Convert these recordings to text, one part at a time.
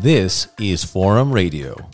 This is Forum Radio.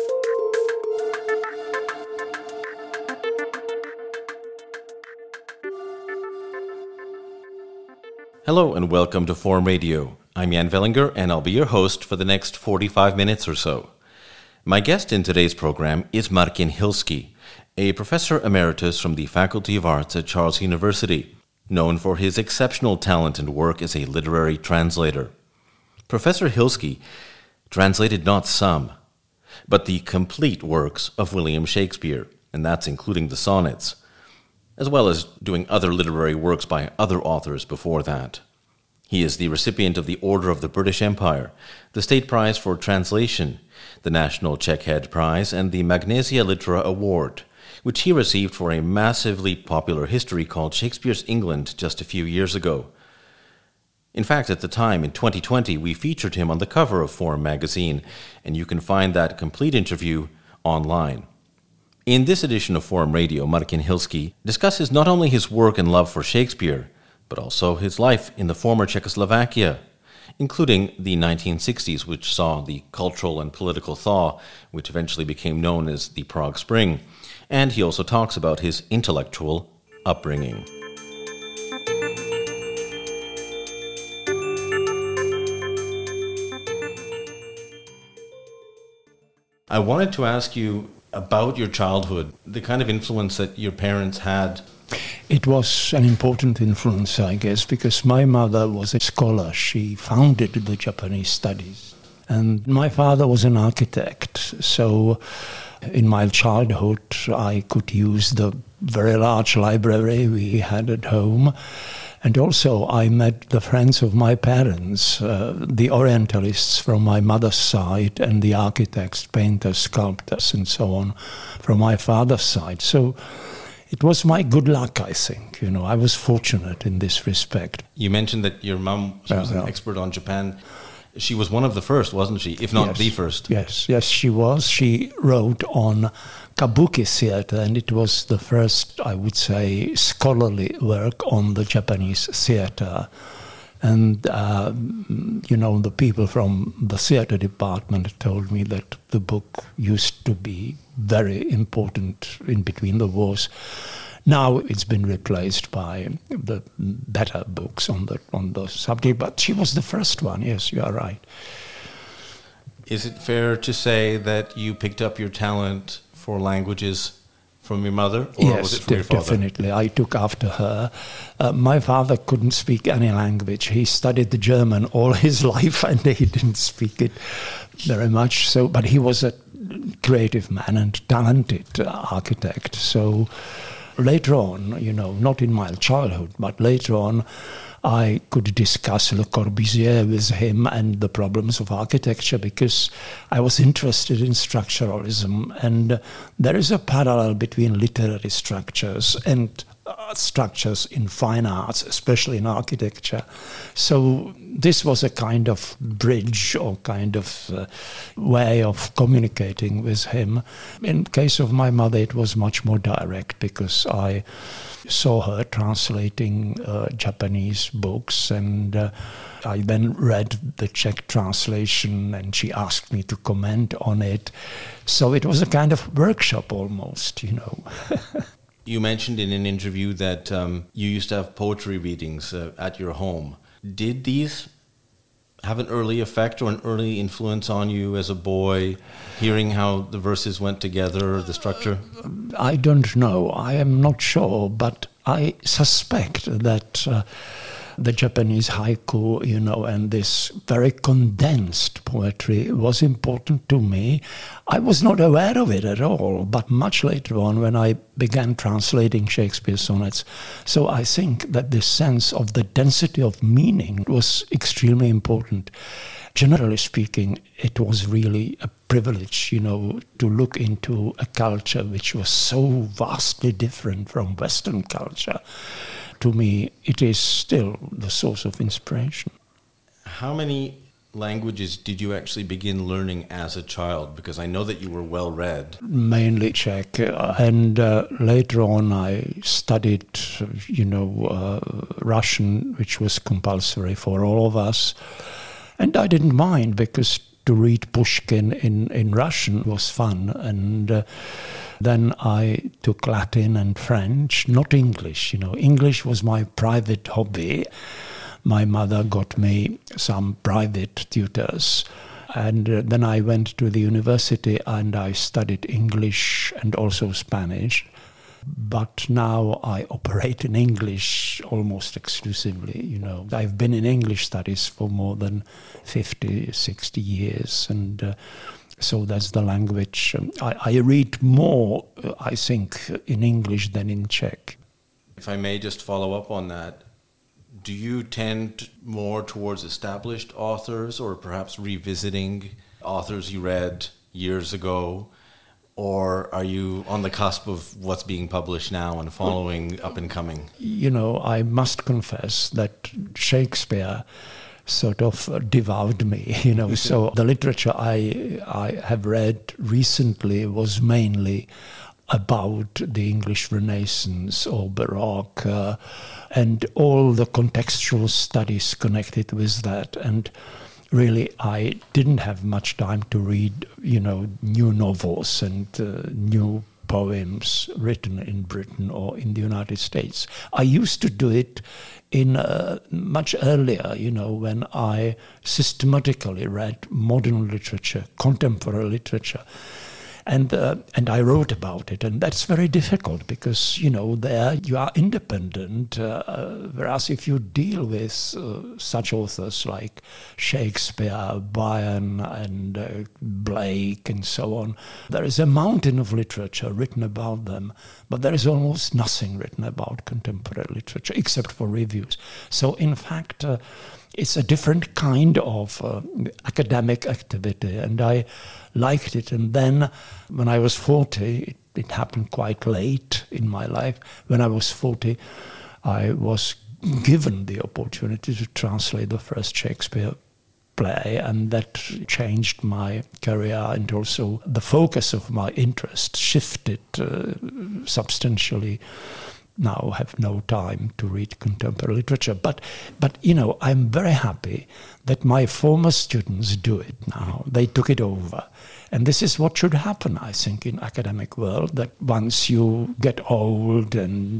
Hello and welcome to Forum Radio. I'm Jan Vellinger and I'll be your host for the next 45 minutes or so. My guest in today's program is Martin Hilsky, a professor emeritus from the Faculty of Arts at Charles University, known for his exceptional talent and work as a literary translator. Professor Hilsky translated not some, but the complete works of William Shakespeare, and that's including the sonnets, as well as doing other literary works by other authors before that. He is the recipient of the Order of the British Empire, the State Prize for Translation, the National Checkhead Prize, and the Magnesia Litera Award, which he received for a massively popular history called Shakespeare's England just a few years ago. In fact, at the time, in 2020, we featured him on the cover of Forum magazine, and you can find that complete interview online. In this edition of Forum Radio, Martin Hilsky discusses not only his work and love for Shakespeare, but also his life in the former Czechoslovakia, including the 1960s, which saw the cultural and political thaw, which eventually became known as the Prague Spring. And he also talks about his intellectual upbringing. I wanted to ask you about your childhood, the kind of influence that your parents had. It was an important influence, I guess, because my mother was a scholar. She founded the Japanese studies. And my father was an architect. So in my childhood, I could use the very large library we had at home. And also I met the friends of my parents, the Orientalists from my mother's side and the architects, painters, sculptors and so on from my father's side. So it was my good luck, I think. You know, I was fortunate in this respect. You mentioned that your mum was an expert on Japan. She was one of the first, wasn't she? If not the first. Yes, she was. She wrote on kabuki theater, and it was the first, I would say, scholarly work on the Japanese theater. And, the people from the theater department told me that the book used to be very important in between the wars. Now it's been replaced by the better books on the subject, but she was the first one. Yes, you are right. Is it fair to say that you picked up your talent for languages from your mother, or was it from your father? Definitely. I took after her. My father couldn't speak any language. He studied the German all his life, and he didn't speak it very much. So, but he was a creative man and talented architect. So later on, not in my childhood, but later on, I could discuss Le Corbusier with him and the problems of architecture because I was interested in structuralism. And there is a parallel between literary structures and structures in fine arts, especially in architecture. So this was a kind of bridge or kind of way of communicating with him. In case of my mother, it was much more direct because I saw her translating Japanese books, and I then read the Czech translation, and she asked me to comment on it. So it was a kind of workshop almost, You mentioned in an interview that you used to have poetry readings at your home. Did these have an early effect or an early influence on you as a boy, hearing how the verses went together, the structure? I don't know. I am not sure, but I suspect that the Japanese haiku, and this very condensed poetry was important to me. I was not aware of it at all, but much later on when I began translating Shakespeare's sonnets. So I think that this sense of the density of meaning was extremely important. Generally speaking, it was really a privilege, to look into a culture which was so vastly different from Western culture. To me, it is still the source of inspiration. How many languages did you actually begin learning as a child? Because I know that you were well read. Mainly Czech, and later on I studied, Russian, which was compulsory for all of us. And I didn't mind because to read Pushkin in Russian was fun. And then I took Latin and French, not English. English was my private hobby. My mother got me some private tutors. And then I went to the university and I studied English and also Spanish. But now I operate in English almost exclusively. I've been in English studies for more than 50, 60 years. And so that's the language. I read more, I think, in English than in Czech. If I may just follow up on that, do you tend more towards established authors or perhaps revisiting authors you read years ago? Or are you on the cusp of what's being published now and following up and coming? I must confess that Shakespeare sort of devoured me, So the literature I have read recently was mainly about the English Renaissance or Baroque and all the contextual studies connected with that. And really, I didn't have much time to read, new novels and new poems written in Britain or in the United States. I used to do it in much earlier, when I systematically read modern literature, contemporary literature. And I wrote about it, and that's very difficult because, there you are independent, whereas if you deal with such authors like Shakespeare, Byron, and Blake, and so on, there is a mountain of literature written about them, but there is almost nothing written about contemporary literature, except for reviews. So, in fact, it's a different kind of academic activity, and I liked it. And then when I was 40, it happened quite late in my life. When I was 40, I was given the opportunity to translate the first Shakespeare play, and that changed my career, and also the focus of my interest shifted substantially. Now have no time to read contemporary literature. But I'm very happy that my former students do it now. They took it over. And this is what should happen, I think, in academic world, that once you get old and,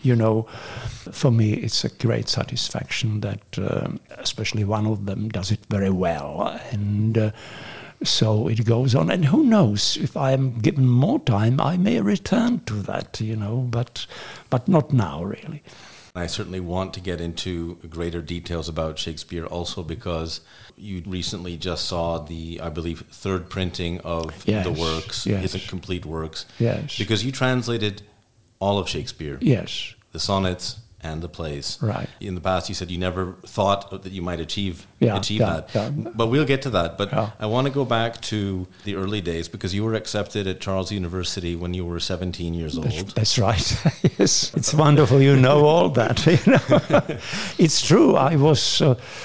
for me, it's a great satisfaction that especially one of them does it very well. And so it goes on, and who knows, if I am given more time, I may return to that, but not now, really. I certainly want to get into greater details about Shakespeare also because you recently just saw the, I believe, third printing of the works, his complete works. Yes. Because you translated all of Shakespeare. Yes. The sonnets and the plays. Right. In the past, you said you never thought that you might achieve that. Yeah. But we'll get to that. But yeah. I want to go back to the early days because you were accepted at Charles University when you were 17 years old. That's right. Yes. It's wonderful you know all that. It's true. I was...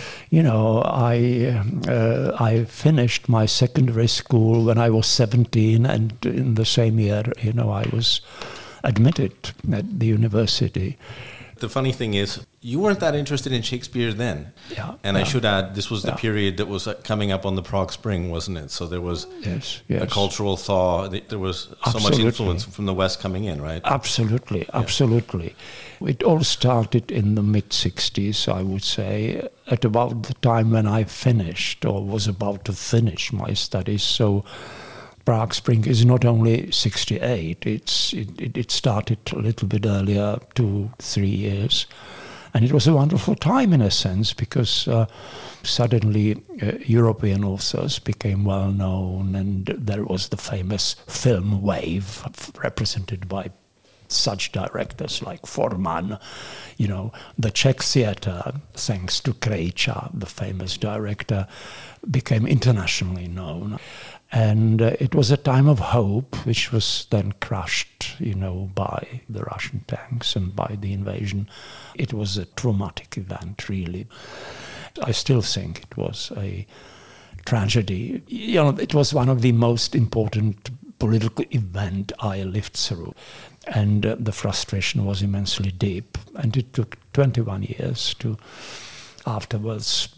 I finished my secondary school when I was 17, and in the same year, I was admitted at the university. The funny thing is, you weren't that interested in Shakespeare then. Yeah. And I should add, this was the period that was coming up on the Prague Spring, wasn't it? So there was a cultural thaw. There was so much influence from the West coming in, right? Absolutely. It all started in the mid-60s, I would say, at about the time when I finished or was about to finish my studies. So Prague Spring is not only 68, it started a little bit earlier, 2-3 years. And it was a wonderful time in a sense because suddenly European authors became well known, and there was the famous film wave represented by such directors like Forman. The Czech theatre, thanks to Krejča, the famous director, became internationally known. And it was a time of hope, which was then crushed, by the Russian tanks and by the invasion. It was a traumatic event, really. I still think it was a tragedy. It was one of the most important political events I lived through. And the frustration was immensely deep. And it took 21 years to afterwards,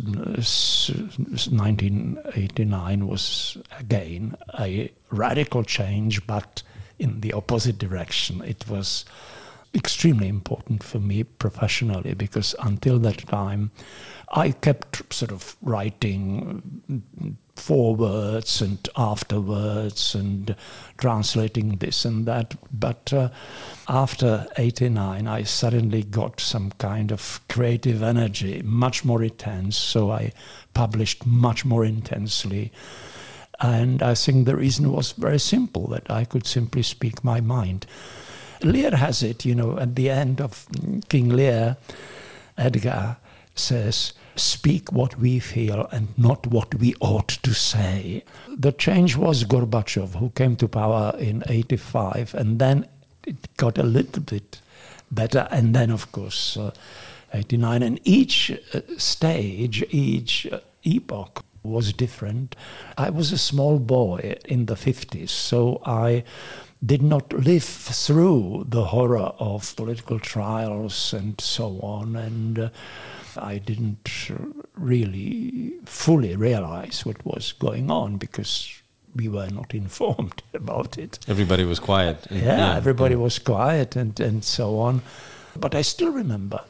1989 was again a radical change, but in the opposite direction. It was extremely important for me professionally, because until that time I kept sort of writing forwards and afterwards and translating this and that. But after 89, I suddenly got some kind of creative energy, much more intense. So I published much more intensely. And I think the reason was very simple, that I could simply speak my mind. Lear has it, at the end of King Lear, Edgar says, "Speak what we feel and not what we ought to say." The change was Gorbachev, who came to power in 85, and then it got a little bit better, and then, of course, 89. And each stage, each epoch was different. I was a small boy in the 50s, so I did not live through the horror of political trials and so on, and I didn't really fully realize what was going on because we were not informed about it. Everybody was quiet. Everybody was quiet and so on. But I still remember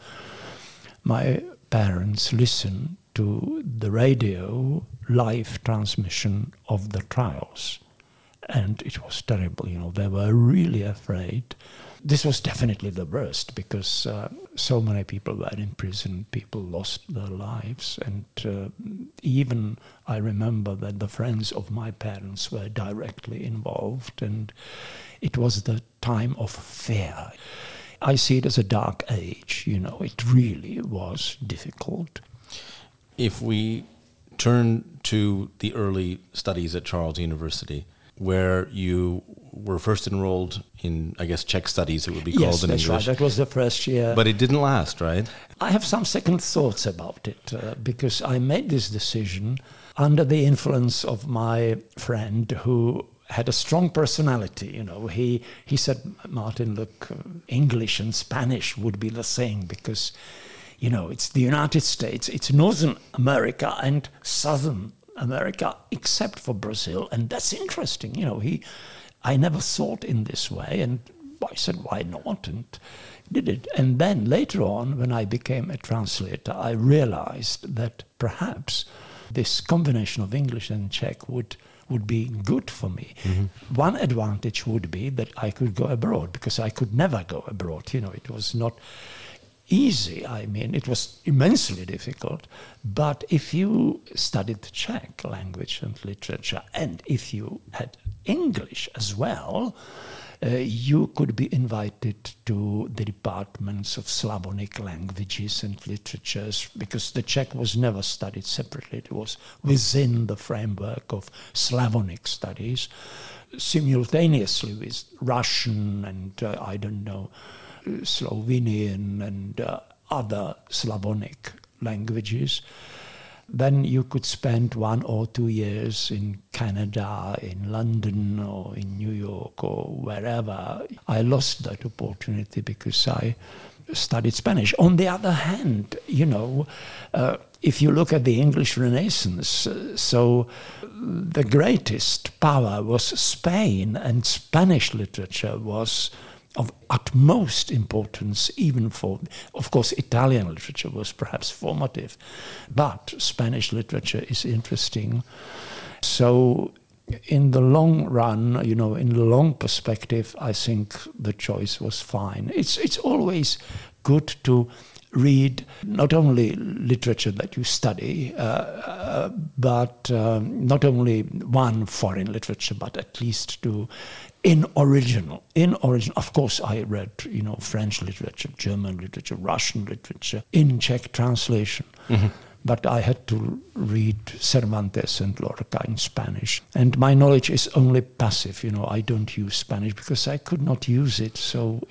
my parents listened to the radio live transmission of the trials. And it was terrible, they were really afraid. This was definitely the worst because so many people were in prison, people lost their lives. And even I remember that the friends of my parents were directly involved, and it was the time of fear. I see it as a dark age, it really was difficult. If we turn to the early studies at Charles University, where you were first enrolled in, I guess, Czech studies, it would be called in English. Yes, that's right. That was the first year. But it didn't last, right? I have some second thoughts about it because I made this decision under the influence of my friend who had a strong personality. He said, "Martin, look, English and Spanish would be the same because, it's the United States, it's Northern America and Southern America, except for Brazil, and that's interesting." I never thought in this way, and I said, why not, and did it. And then later on, when I became a translator, I realized that perhaps this combination of English and Czech would be good for me. Mm-hmm. One advantage would be that I could go abroad, because I could never go abroad. It was not easy. I mean, it was immensely difficult. But if you studied Czech language and literature, and if you had English as well, you could be invited to the departments of Slavonic languages and literatures, because the Czech was never studied separately. It was within the framework of Slavonic studies, simultaneously with Russian and, Slovenian and other Slavonic languages. Then you could spend 1 or 2 years in Canada, in London, or in New York, or wherever. I lost that opportunity because I studied Spanish. On the other hand, if you look at the English Renaissance, so the greatest power was Spain, and Spanish literature was of utmost importance, even for, of course, Italian literature was perhaps formative, but Spanish literature is interesting. So in the long run, in the long perspective, I think the choice was fine. It's always good to read not only literature that you study, but not only one foreign literature, but at least in original. Of course, I read, French literature, German literature, Russian literature in Czech translation. Mm-hmm. But I had to read Cervantes and Lorca in Spanish. And my knowledge is only passive, I don't use Spanish because I could not use it. So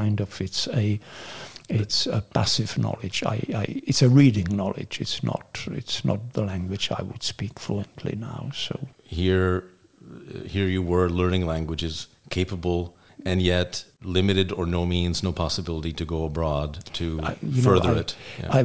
it's a passive knowledge. It's a reading knowledge. It's not the language I would speak fluently now. So here you were learning languages, capable and yet limited or no means, no possibility to go abroad to further it. Yeah.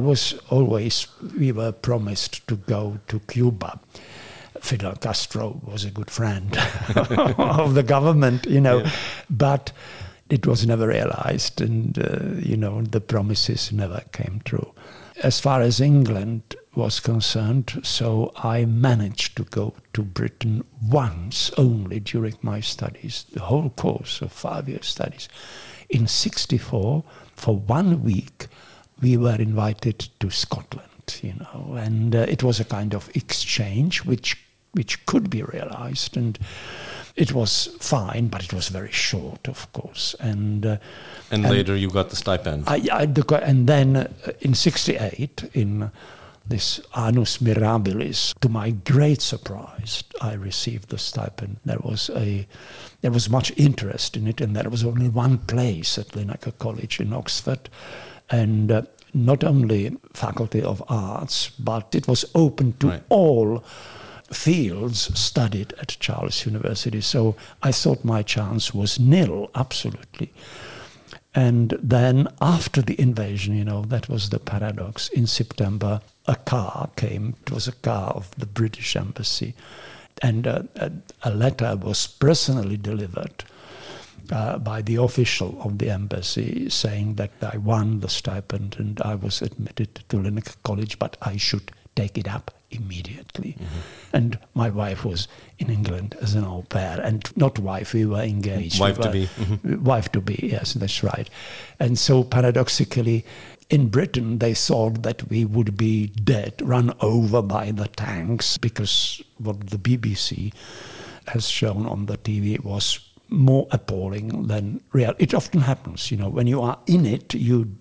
We were promised to go to Cuba. Fidel Castro was a good friend of the government, but it was never realized, and, the promises never came true. As far as England was concerned, so I managed to go to Britain once only during my studies, the whole course of 5-year studies. In 1964, for 1 week, we were invited to Scotland, and it was a kind of exchange which could be realized, and it was fine, but it was very short, of course. And later you got the stipend. And then in 1968, in this annus mirabilis, to my great surprise, I received the stipend. There was much interest in it, and there was only one place at Linacre College in Oxford, and not only Faculty of Arts, but it was open to all fields studied at Charles University. So I thought my chance was nil, absolutely. And then after the invasion, that was the paradox. In September, a car came. It was a car of the British Embassy. And a letter was personally delivered by the official of the embassy saying that I won the stipend and I was admitted to Linacre College, but I should take it up immediately. Mm-hmm. And my wife was in England as an au pair, and not wife, we were engaged. Wife-to-be. Mm-hmm. Wife-to-be, yes, that's right. And so paradoxically, in Britain, they thought that we would be dead, run over by the tanks, because what the BBC has shown on the TV was more appalling than real. It often happens, when you are in it,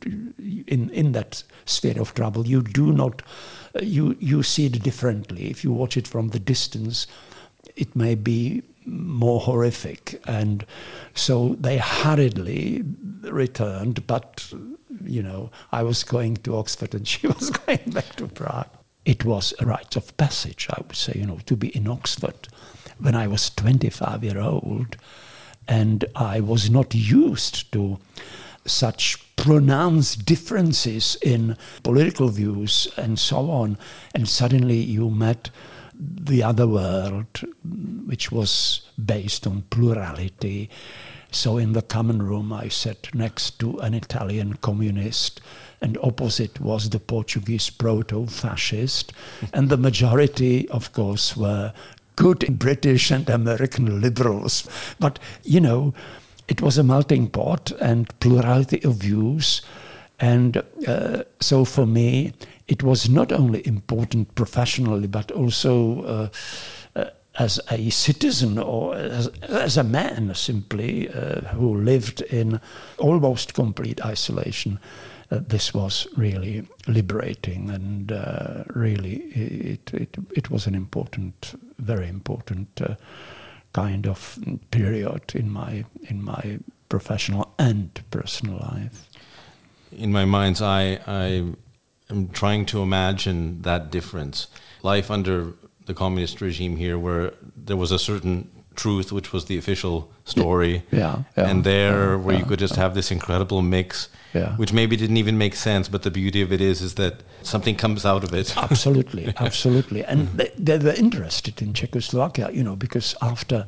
in that sphere of trouble, you do not, you see it differently. If you watch it from the distance, it may be more horrific. And so they hurriedly returned, but, I was going to Oxford and she was going back to Prague. It was a rite of passage, I would say, to be in Oxford when I was 25-year-old. And I was not used to such pronounced differences in political views and so on. And suddenly you met the other world, which was based on plurality. So in the common room, I sat next to an Italian communist, and opposite was the Portuguese proto-fascist. And the majority, of course, were good British and American liberals. But, it was a melting pot and plurality of views. And so for me, it was not only important professionally, but also as a citizen or as a man simply who lived in almost complete isolation. This was really liberating, and really it was an important, very important kind of period in my professional and personal life. In my mind's eye, I am trying to imagine that difference. Life under the communist regime here, where there was a certain truth, which was the official story, and where you could just have this incredible mix, which maybe didn't even make sense, but the beauty of it is that something comes out of it. Absolutely. And they were interested in Czechoslovakia, because after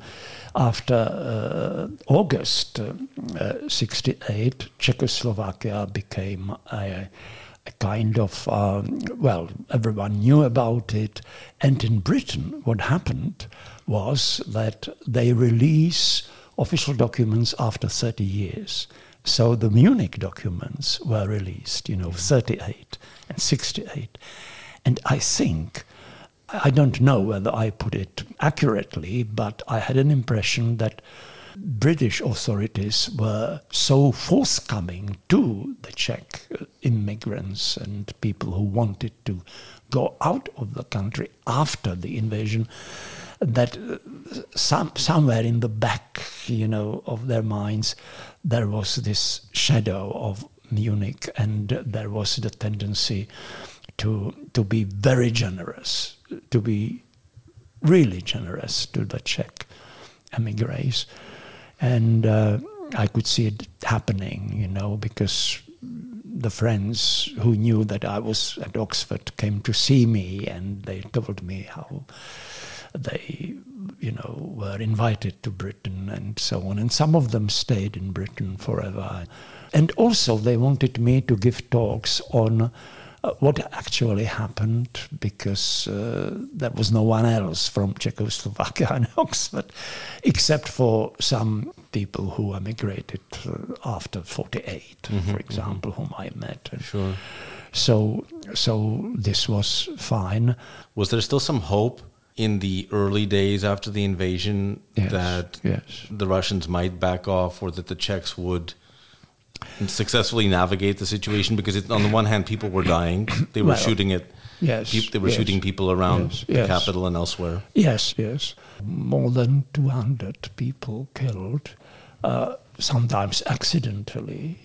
August 1968, Czechoslovakia became a kind of, everyone knew about it. And in Britain, what happened was that they release official documents after 30 years. So the Munich documents were released, 38 and 68. And I think, I don't know whether I put it accurately, but I had an impression that British authorities were so forthcoming to the Czech immigrants and people who wanted to go out of the country after the invasion that somewhere in the back, of their minds, there was this shadow of Munich, and there was the tendency to be very generous, to be really generous to the Czech emigres. And I could see it happening, because the friends who knew that I was at Oxford came to see me, and they told me how they, were invited to Britain and so on. And some of them stayed in Britain forever. And also they wanted me to give talks on what actually happened, because there was no one else from Czechoslovakia and Oxford, except for some people who emigrated after 48, for example, whom I met. Sure. So this was fine. Was there still some hope in the early days after the invasion that the Russians might back off, or that the Czechs would successfully navigate the situation? Because on the one hand, people were dying; they were shooting at shooting people around the capital and elsewhere. Yes, more than 200 people killed, sometimes accidentally.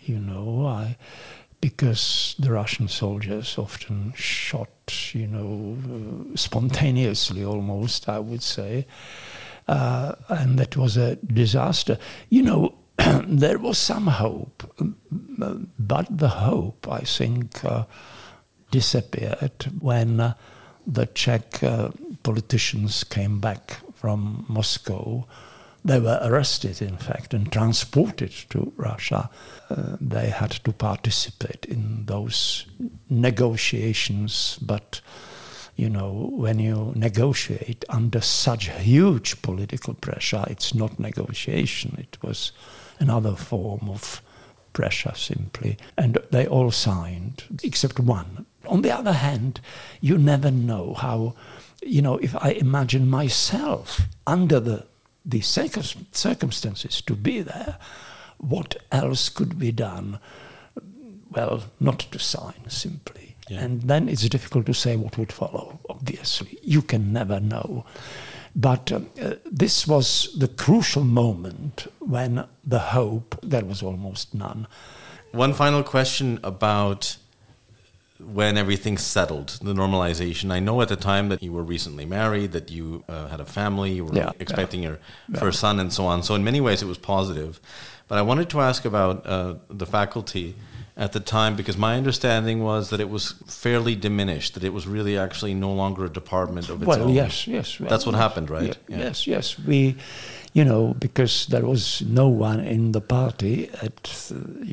Because the Russian soldiers often shot, spontaneously almost, I would say, and that was a disaster. There was some hope, but the hope, I think, disappeared when the Czech politicians came back from Moscow. They were arrested, in fact, and transported to Russia. They had to participate in those negotiations, but when you negotiate under such huge political pressure, it's not negotiation. It was another form of pressure, simply. And they all signed, except one. On the other hand, you never know how, if I imagine myself under the circumstances to be there, what else could be done? Well, not to sign, simply. Yeah. And then it's difficult to say what would follow, obviously. You can never know. But this was the crucial moment when the hope, there was almost none. One final question about when everything settled, the normalization. I know at the time that you were recently married, that you had a family, you were expecting your first son and so on. So in many ways it was positive. But I wanted to ask about the faculty at the time, because my understanding was that it was fairly diminished, that it was really actually no longer a department of its own. Well, yes. Well, that's what happened, right? Yes. We, because there was no one in the party after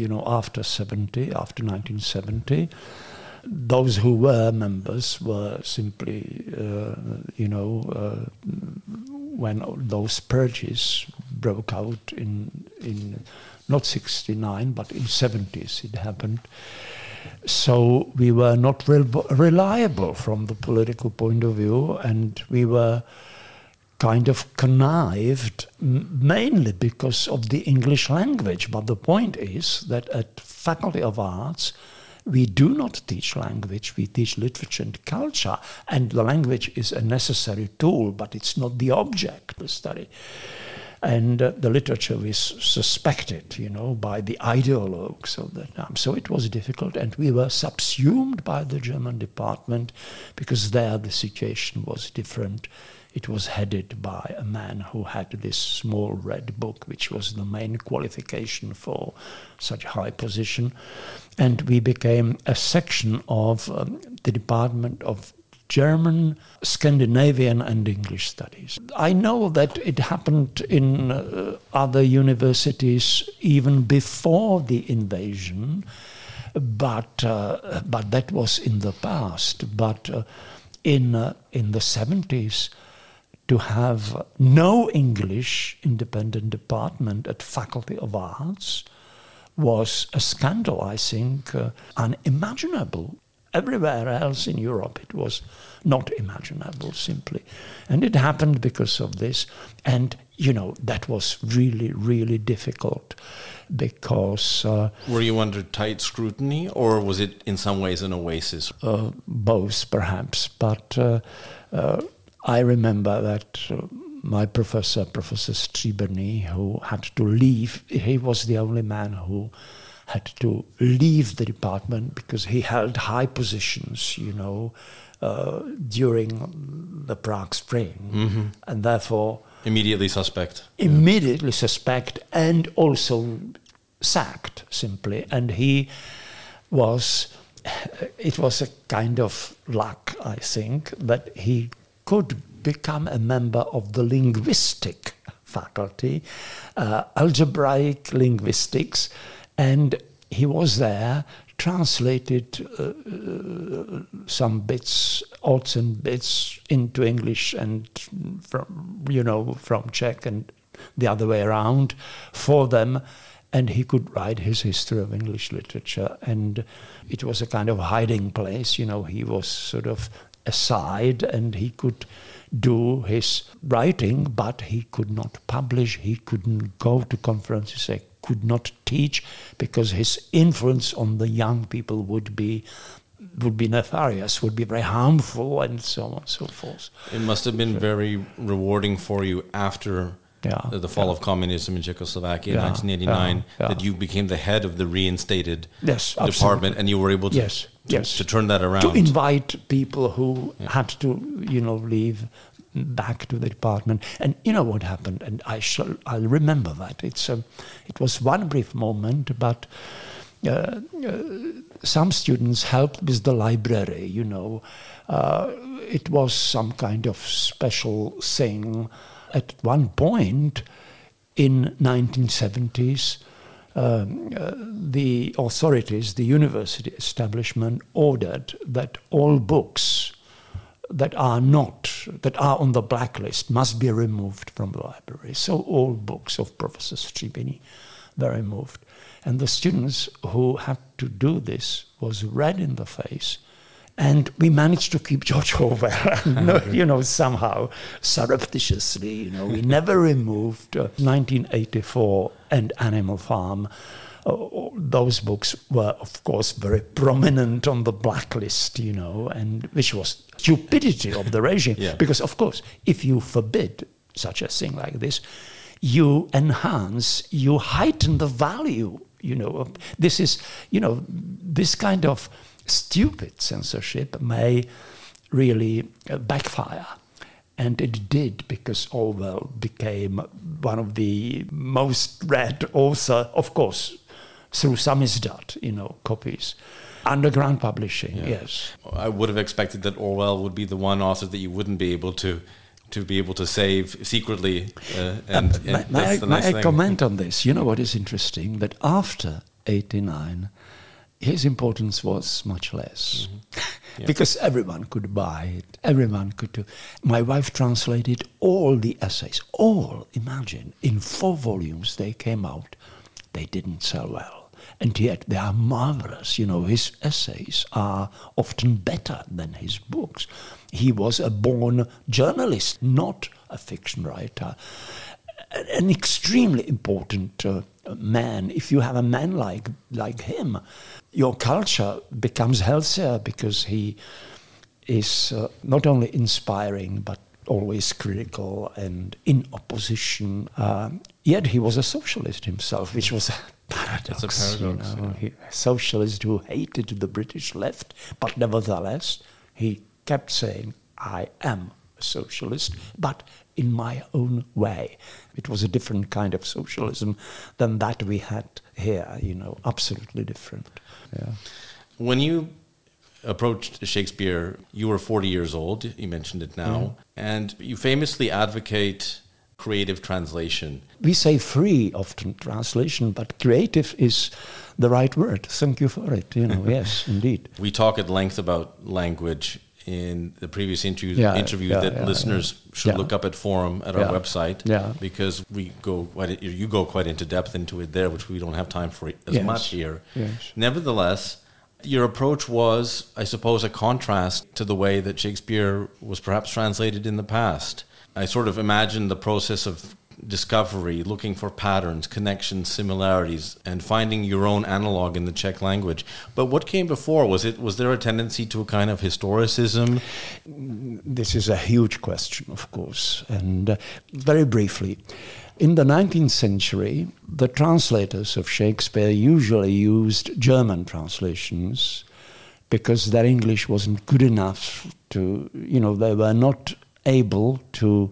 1970. Those who were members were simply, when those purges broke out in not 69, but in 70s it happened. So we were not reliable from the political point of view, and we were kind of connived, mainly because of the English language. But the point is that at Faculty of Arts, we do not teach language, we teach literature and culture, and the language is a necessary tool, but it's not the object to study. And the literature was suspected, by the ideologues of the time. So it was difficult, and we were subsumed by the German department, because there the situation was different. It was headed by a man who had this small red book, which was the main qualification for such a high position. And we became a section of the Department of German, Scandinavian and English Studies. I know that it happened in other universities even before the invasion, but that was in the past. But in the 70s, to have no English independent department at Faculty of Arts was a scandal, I think, unimaginable. Everywhere else in Europe it was not imaginable, simply. And it happened because of this. And, that was really, really difficult because... Were you under tight scrutiny, or was it in some ways an oasis? Both, perhaps. But I remember that my Professor Stříbrný, who had to leave, he was the only man who had to leave the department because he held high positions, during the Prague Spring. Mm-hmm. And therefore... Immediately suspect. Immediately suspect and also sacked, simply. And it was a kind of luck, I think, that he could become a member of the linguistic faculty, algebraic linguistics, and he was there, translated some bits, odds and bits into English and from Czech and the other way around for them, and he could write his history of English literature, and it was a kind of hiding place. He was sort of aside, and he could do his writing, but he could not publish, he couldn't go to conferences, he could not teach, because his influence on the young people would be nefarious, would be very harmful, and so on and so forth. It must have been very rewarding for you after the fall of communism in Czechoslovakia in 1989, that you became the head of the reinstated department, and you were able to turn that around. To invite people who had to, leave back to the department. And you know what happened, and I'll remember that. It was one brief moment, but some students helped with the library, It was some kind of special thing. At one point in 1970s, the authorities, the university establishment, ordered that all books that are on the blacklist must be removed from the library. So all books of Professor Stříbný were removed. And the students who had to do this was red in the face. And we managed to keep George Orwell, somehow, surreptitiously, We never removed 1984 and Animal Farm. Those books were, of course, very prominent on the blacklist, and which was stupidity of the regime. Because, of course, if you forbid such a thing like this, you heighten the value, This is, this kind of stupid censorship may really backfire. And it did, because Orwell became one of the most read author, of course, through samizdat, copies. Underground publishing, yes. I would have expected that Orwell would be the one author that you wouldn't be able to save secretly. May I comment on this? You know what is interesting? That after 1989, his importance was much less. Because everyone could buy it, everyone could do. My wife translated all the essays, imagine, in 4 volumes they came out. They didn't sell well. And yet they are marvelous. His essays are often better than his books. He was a born journalist, not a fiction writer. An extremely important man. If you have a man like him, your culture becomes healthier, because he is not only inspiring but always critical and in opposition. Yet he was a socialist himself, which was a paradox. It's a paradox. A socialist who hated the British left, but nevertheless he kept saying, "I am a socialist, but in my own way." It was a different kind of socialism than that we had here, absolutely different. Yeah. When you approached Shakespeare, you were 40 years old, you mentioned it now, and you famously advocate creative translation. We say free often translation, but creative is the right word. Thank you for it, yes, indeed. We talk at length about language in the previous interview that listeners should look up at Forum at our website, because you go quite into depth into it there, which we don't have time for as much here. Yes. Nevertheless, your approach was, I suppose, a contrast to the way that Shakespeare was perhaps translated in the past. I sort of imagine the process of discovery, looking for patterns, connections, similarities, and finding your own analog in the Czech language. But what came before? Was there a tendency to a kind of historicism? This is a huge question, of course. And very briefly, in the 19th century, the translators of Shakespeare usually used German translations because their English wasn't good enough to, they were not able to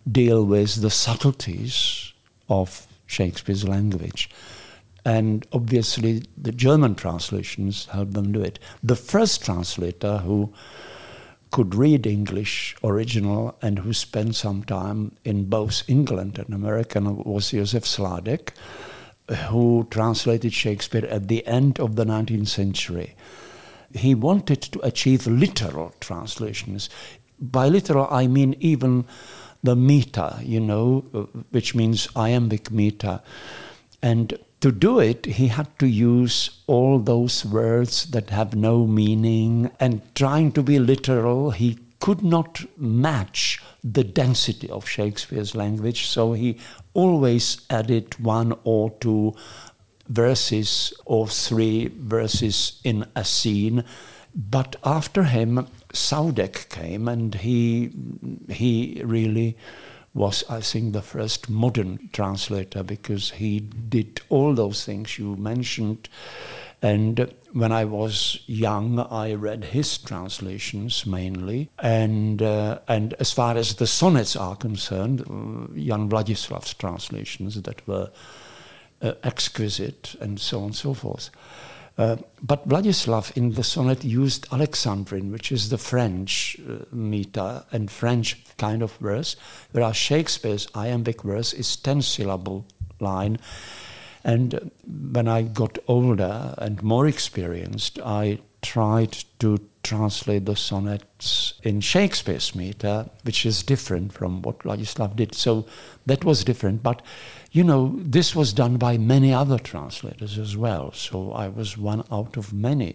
deal with the subtleties of Shakespeare's language. And obviously the German translations helped them do it. The first translator who could read English original and who spent some time in both England and America was Josef Sládek, who translated Shakespeare at the end of the 19th century. He wanted to achieve literal translations. By literal, I mean even the meter, which means iambic meter. And to do it, he had to use all those words that have no meaning, and trying to be literal, he could not match the density of Shakespeare's language, so he always added 1 or 2 verses or 3 verses in a scene. But after him, Sládek came, and he really was, I think, the first modern translator, because he did all those things you mentioned. And when I was young, I read his translations mainly. And as far as the sonnets are concerned, Jan Vladislav's translations that were exquisite, and so on and so forth. But Vladislav in the sonnet used Alexandrine, which is the French meter and French kind of verse, whereas Shakespeare's iambic verse is 10-syllable line. And when I got older and more experienced, I tried to translate the sonnets in Shakespeare's meter, which is different from what Vladislav did. So that was different. But, this was done by many other translators as well. So I was one out of many.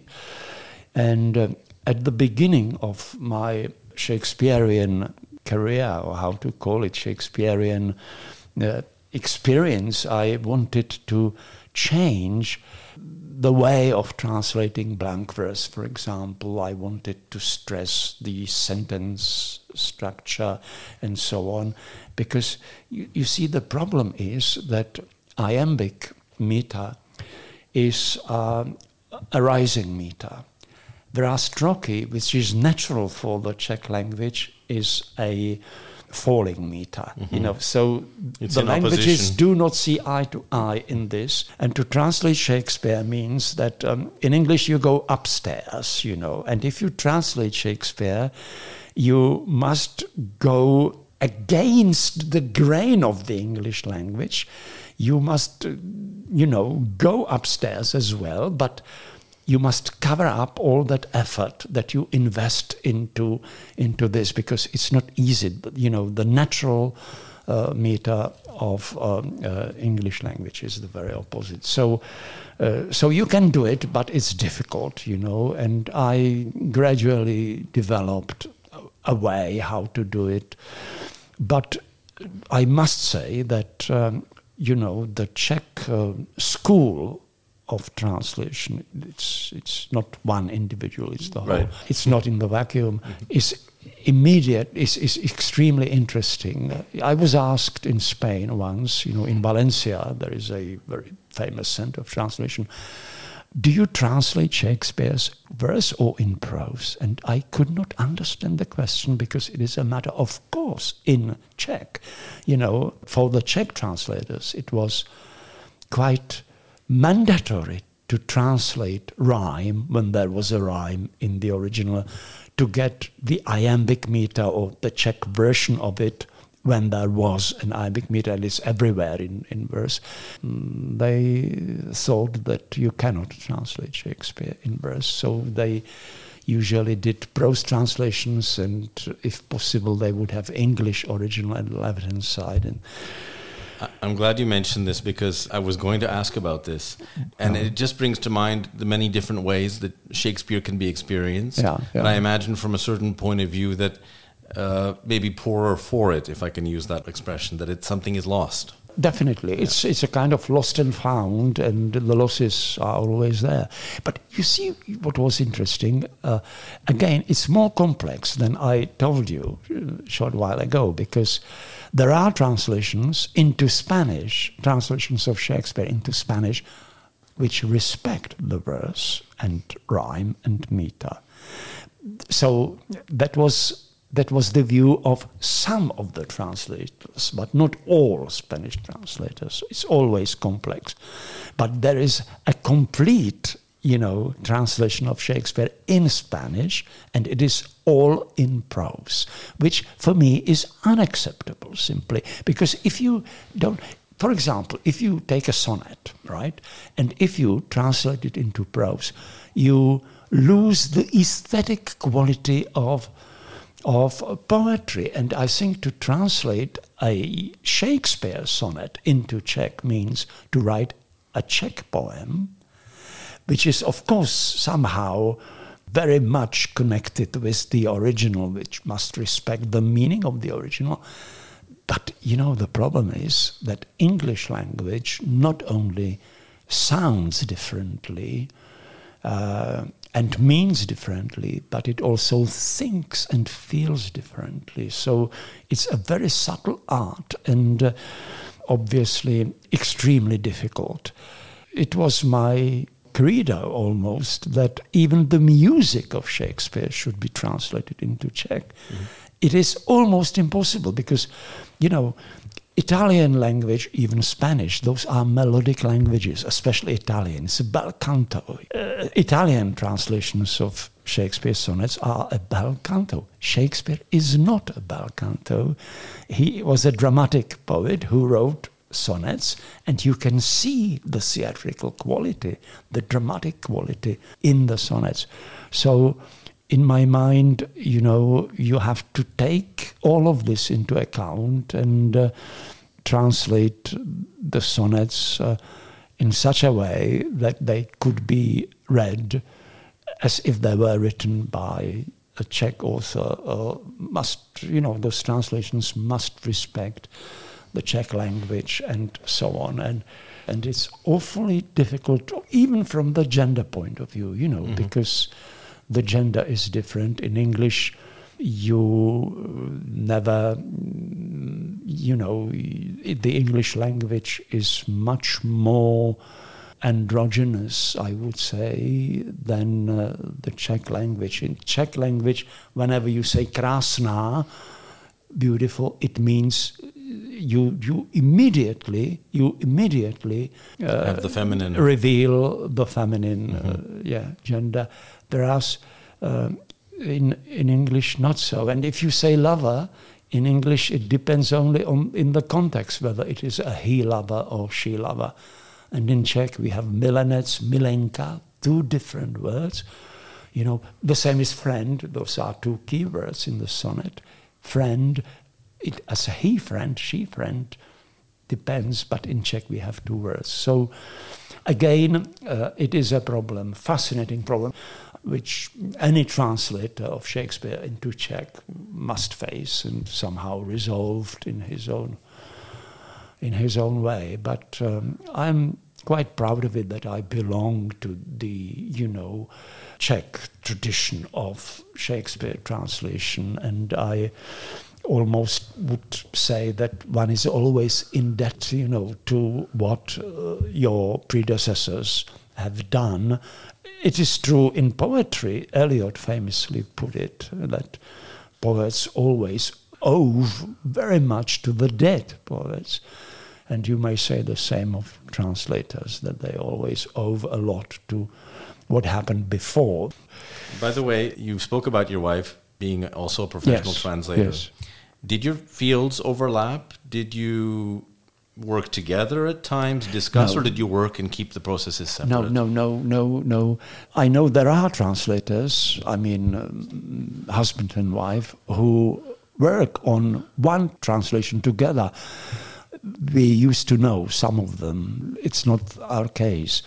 And at the beginning of my Shakespearean career, or how to call it, Shakespearean experience, I wanted to change the way of translating blank verse, for example. I wanted to stress the sentence structure and so on, because you see, the problem is that iambic meter is a rising meter, whereas trochee, which is natural for the Czech language, is a falling meter. So it's the languages do not see eye to eye in this. And to translate Shakespeare means that in English you go upstairs, and if you translate Shakespeare, you must go against the grain of the English language. You must, go upstairs as well, but you must cover up all that effort that you invest into this, because it's not easy. The natural meter of English language is the very opposite. So you can do it, but it's difficult, and I gradually developed a way how to do it. But I must say that, the Czech school of translation, it's not one individual, it's the whole. Right. It's not in the vacuum. It's immediate, is extremely interesting. I was asked in Spain once, in Valencia, there is a very famous center of translation, do you translate Shakespeare's verse or in prose? And I could not understand the question, because it is a matter of course in Czech. For the Czech translators, it was quite mandatory to translate rhyme when there was a rhyme in the original, to get the iambic meter or the Czech version of it when there was an iambic meter, and it's everywhere in verse. They thought that you cannot translate Shakespeare in verse, so they usually did prose translations, and if possible they would have English original at the left-hand side. And I'm glad you mentioned this, because I was going to ask about this. And it just brings to mind the many different ways that Shakespeare can be experienced. Yeah. And I imagine from a certain point of view that maybe poorer for it, if I can use that expression, that something is lost. Definitely. Yeah. It's a kind of lost and found, and the losses are always there. But you see what was interesting? Again, it's more complex than I told you a short while ago, because there are translations into Spanish, translations of Shakespeare into Spanish, which respect the verse and rhyme and meter. So that was that was the view of some of the translators, but not all Spanish translators. It's always complex. But there is a complete, translation of Shakespeare in Spanish, and it is all in prose, which for me is unacceptable simply. Because if you don't, for example, if you take a sonnet, right, and if you translate it into prose, you lose the aesthetic quality of poetry. And I think to translate a Shakespeare sonnet into Czech means to write a Czech poem, which is, of course, somehow very much connected with the original, which must respect the meaning of the original. But, the problem is that English language not only sounds differently and means differently, but it also thinks and feels differently. So it's a very subtle art and obviously extremely difficult. It was my credo almost that even the music of Shakespeare should be translated into Czech. Mm-hmm. It is almost impossible because, Italian language, even Spanish, those are melodic languages, especially Italian. It's a bel canto. Italian translations of Shakespeare's sonnets are a bel canto. Shakespeare is not a bel canto. He was a dramatic poet who wrote sonnets, and you can see the theatrical quality, the dramatic quality in the sonnets. So in my mind, you have to take all of this into account and translate the sonnets in such a way that they could be read as if they were written by a Czech author. Those translations must respect the Czech language and so on. And it's awfully difficult, even from the gender point of view, mm-hmm. because the gender is different. In English, you never, the English language is much more androgynous, I would say, than the Czech language. In Czech language, whenever you say krásná, beautiful, it means you immediately have the feminine, reveal the feminine mm-hmm. Gender. Whereas in English not so. And if you say lover, in English it depends only in the context whether it is a he lover or she lover. And in Czech we have milenec, milenka, two different words. The same is friend. Those are two key words in the sonnet. Friend, it as a he friend, she friend, depends, but in Czech we have two words. So again, it is a problem, fascinating problem, which any translator of Shakespeare into Czech must face and somehow resolved in his own way. But I'm quite proud of it that I belong to the, Czech tradition of Shakespeare translation, and I almost would say that one is always in debt, to what your predecessors have done. It is true in poetry. Eliot famously put it that poets always owe very much to the dead poets. And you may say the same of translators, that they always owe a lot to what happened before. By the way, you spoke about your wife being also a professional translator. Yes. Did your fields overlap? Did you work together at times, discuss, or did you work and keep the processes separate? No. I know there are translators, husband and wife, who work on one translation together. We used to know some of them. It's not our case.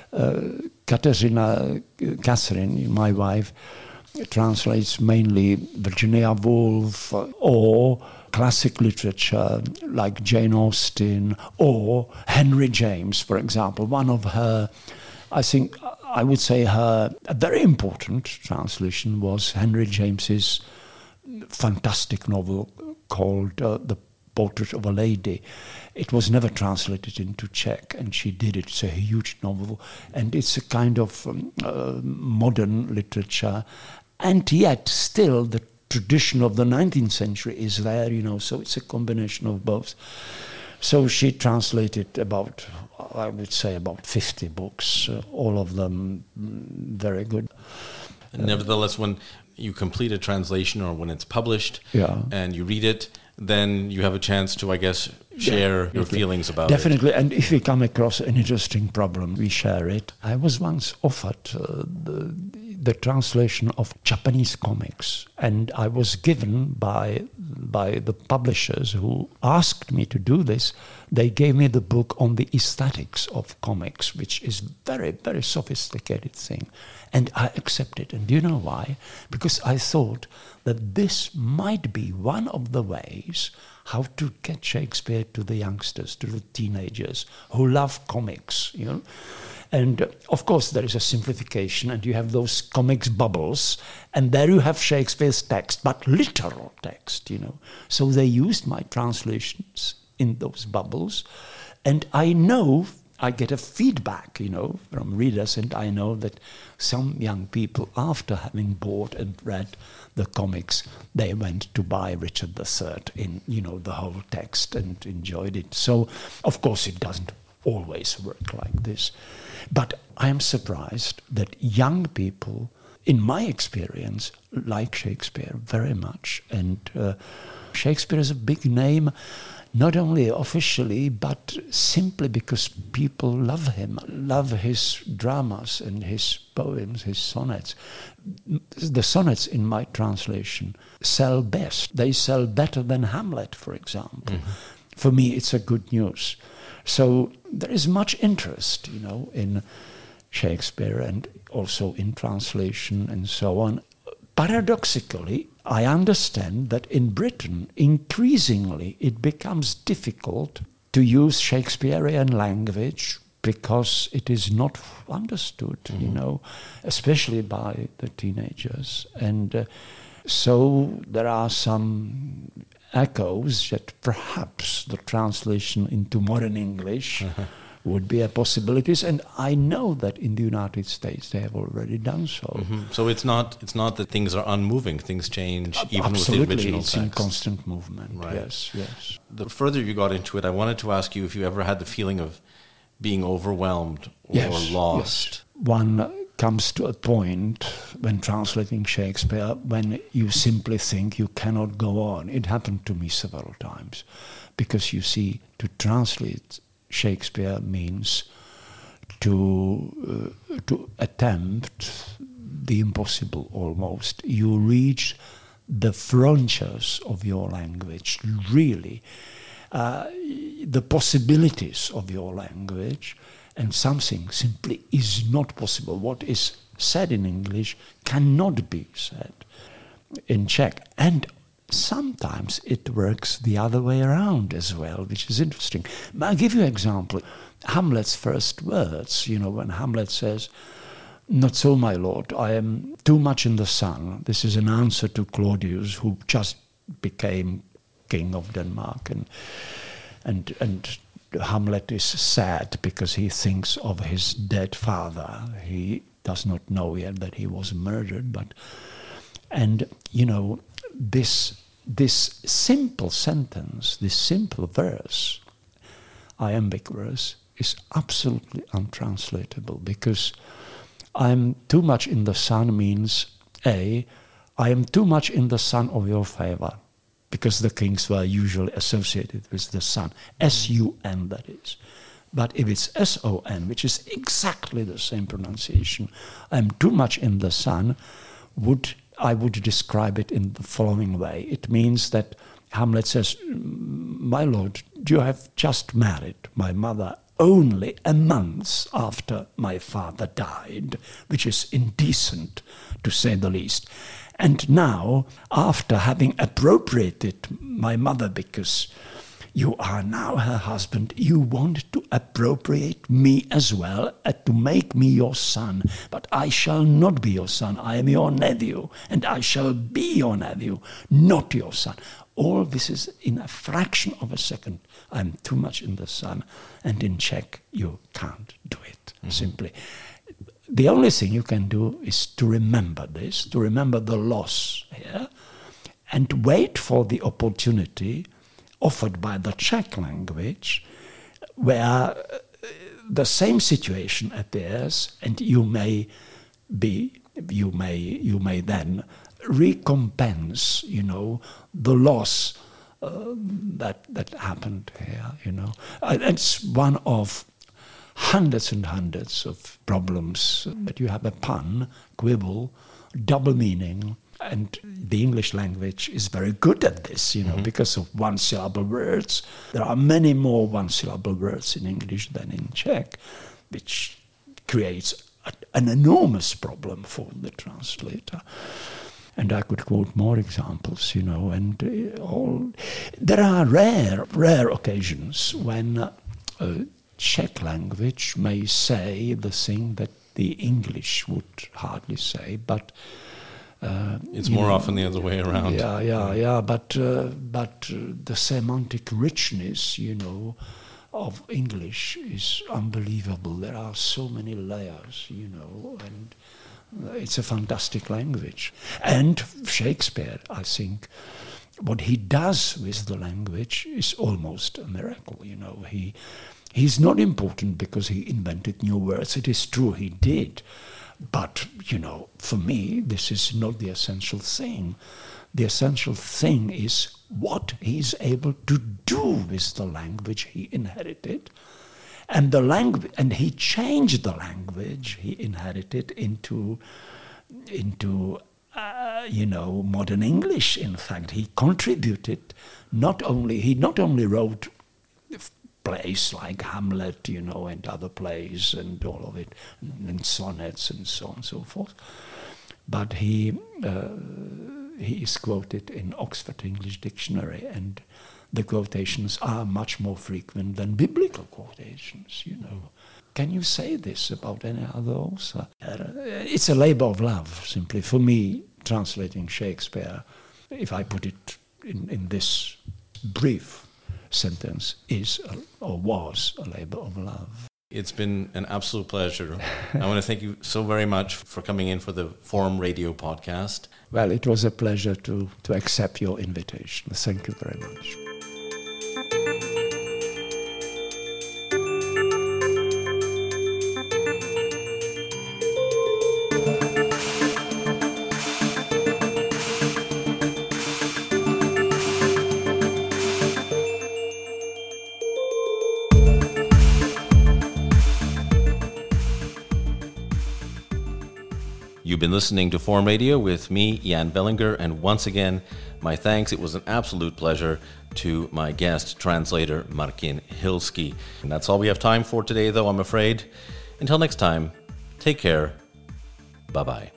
Catherine, my wife, translates mainly Virginia Woolf or classic literature like Jane Austen or Henry James, for example. One of her, I would say a very important translation was Henry James's fantastic novel called The Portrait of a Lady. It was never translated into Czech, and she did it. It's a huge novel, and it's a kind of modern literature. And yet, still, the tradition of the 19th century is there, so it's a combination of both. So she translated about 50 books, all of them very good. Nevertheless, when you complete a translation or when it's published and you read it, then you have a chance to, I guess, share your feelings about it. Definitely, and if we come across an interesting problem, we share it. I was once offered the translation of Japanese comics, and I was given by the publishers who asked me to do this. They gave me the book on the aesthetics of comics, which is very, very sophisticated thing. And I accepted. And do you know why? Because I thought that this might be one of the ways how to get Shakespeare to the youngsters, to the teenagers who love comics, And of course there is a simplification, and you have those comics bubbles, and there you have Shakespeare's text, but literal text, So they used my translations in those bubbles, and I know I get a feedback, from readers, and I know that some young people, after having bought and read the comics, they went to buy Richard III in, the whole text and enjoyed it. So, of course, it doesn't always work like this. But I am surprised that young people, in my experience, like Shakespeare very much. And Shakespeare is a big name, not only officially, but simply because people love him, love his dramas and his poems, his sonnets. The sonnets in my translation sell best. They sell better than Hamlet, for example. Mm-hmm. For me, it's a good news. So there is much interest, in Shakespeare and also in translation and so on. Paradoxically, I understand that in Britain, increasingly, it becomes difficult to use Shakespearean language because it is not understood, especially by the teenagers. And so there are some echoes that perhaps the translation into modern English would be a possibility, and I know that in the United States they have already done so. Mm-hmm. So it's not that things are unmoving; things change even Absolutely, with the original it's text. in constant movement. Right. Yes. The further you got into it, I wanted to ask you if you ever had the feeling of being overwhelmed or lost. Yes. One comes to a point when translating Shakespeare when you simply think you cannot go on. It happened to me several times, because you see, to translate Shakespeare means to attempt the impossible almost. You reach the frontiers of your language, really, the possibilities of your language, and something simply is not possible. What is said in English cannot be said in Czech. And sometimes it works the other way around as well, which is interesting. I'll give you an example. Hamlet's first words, when Hamlet says, "Not so, my lord, I am too much in the sun." This is an answer to Claudius, who just became king of Denmark. And Hamlet is sad because he thinks of his dead father. He does not know yet that he was murdered, this simple sentence, this simple verse, iambic verse, is absolutely untranslatable, because I'm too much in the sun means, I am too much in the sun of your favor, because the kings were usually associated with the sun, S-U-N that is. But if it's S-O-N, which is exactly the same pronunciation, I'm too much in the sun, I would describe it in the following way. It means that Hamlet says, "My lord, you have just married my mother only a month after my father died," which is indecent, to say the least. "And now, after having appropriated my mother because you are now her husband, you want to appropriate me as well, to make me your son. But I shall not be your son. I am your nephew, and I shall be your nephew, not your son." All this is in a fraction of a second. I'm too much in the sun. And in Czech, you can't do it, simply. The only thing you can do is to remember this, to remember the loss here, and wait for the opportunity offered by the Czech language, where the same situation appears, and you may then recompense, the loss that happened here. It's one of hundreds and hundreds of problems that you have a pun, quibble, double meaning. And the English language is very good at this, because of one-syllable words. There are many more one-syllable words in English than in Czech, which creates an enormous problem for the translator. And I could quote more examples, and there are rare occasions when Czech language may say the thing that the English would hardly say, but it's more often the other way around. Yeah. But the semantic richness, of English is unbelievable. There are so many layers, and it's a fantastic language. And Shakespeare, I think, what he does with the language is almost a miracle. He's not important because he invented new words. It is true, he did. But, for me, this is not the essential thing. The essential thing is what he's able to do with the language he inherited. And he changed the language he inherited into modern English. In fact, he contributed. He not only wrote plays like Hamlet, and other plays and all of it, and sonnets and so on and so forth. But he is quoted in Oxford English Dictionary, and the quotations are much more frequent than biblical quotations, Can you say this about any other author? It's a labor of love, simply. For me, translating Shakespeare, if I put it in this brief sentence, was a labor of love. It's been an absolute pleasure. I want to thank you so very much for coming in for the Forum Radio podcast. Well, it was a pleasure to accept your invitation. Thank you very much. You've been listening to Forum Radio with me, Jan Bellinger, and once again, my thanks. It was an absolute pleasure to my guest, translator Martin Hilsky. And that's all we have time for today, though, I'm afraid. Until next time, take care. Bye-bye.